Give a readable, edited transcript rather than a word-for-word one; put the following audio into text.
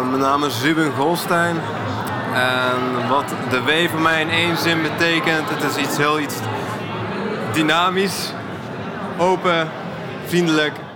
Mijn naam is Ruben Golstein. En wat de W voor mij in één zin betekent, het is iets dynamisch, open, vriendelijk